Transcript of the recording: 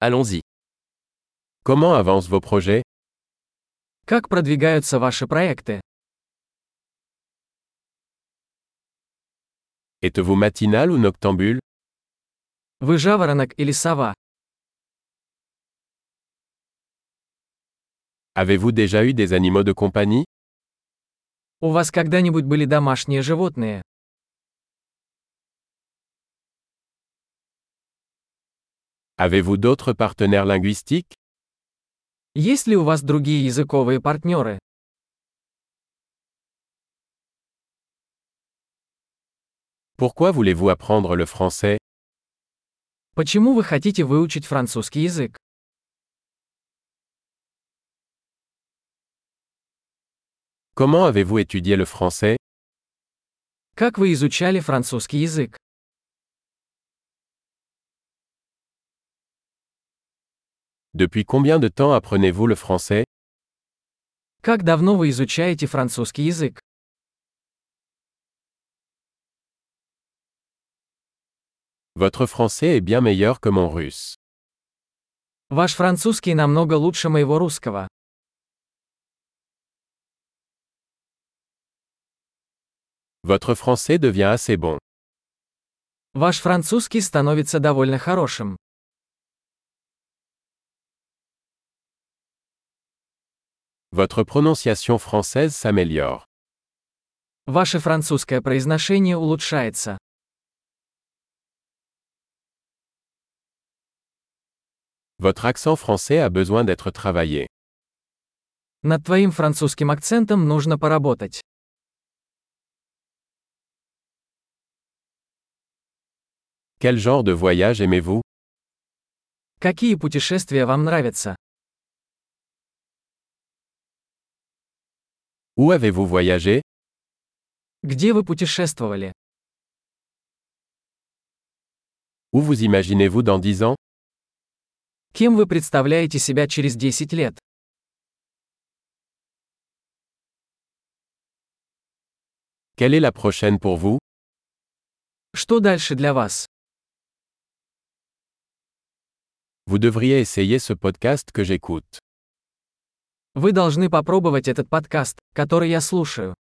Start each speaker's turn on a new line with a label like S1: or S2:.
S1: Allons-y.
S2: Comment avancent vos projets?
S3: Как продвигаются ваши проекты?
S2: Êtes-vous matinal ou noctambule?
S3: Вы жаворонок или сова?
S2: Avez-vous déjà eu des animaux de compagnie?
S3: У вас когда-нибудь были домашние животные?
S2: Avez-vous d'autres partenaires linguistiques?
S3: Есть ли у вас другие языковые партнеры?
S2: Pourquoi voulez-vous apprendre le français?
S3: Почему вы хотите выучить французский язык?
S2: Comment avez-vous étudié le français?
S3: Как вы изучали французский язык?
S2: Depuis combien de temps apprenez-vous le français?
S3: Как давно вы изучаете французский язык?
S2: Votre français est bien meilleur que mon russe.
S3: Ваш французский намного лучше моего русского.
S2: Votre français devient assez bon.
S3: Ваш французский становится довольно хорошим.
S2: Votre prononciation française s'améliore.
S3: Ваше французское произношение улучшается.
S2: Votre accent français a besoin d'être travaillé.
S3: Над твоим французским акцентом нужно поработать.
S2: Quel genre de voyage aimez-vous?
S3: Какие путешествия вам нравятся?
S2: Où avez-vous voyagé?
S3: Где вы путешествовали?
S2: Où vous imaginez-vous dans 10 ans?
S3: Кем вы представляете себя через 10 лет?
S2: Quelle est la prochaine pour vous?
S3: Что дальше для вас?
S2: Vous devriez essayer ce podcast que j'écoute.
S3: Вы должны попробовать этот подкаст, который я слушаю.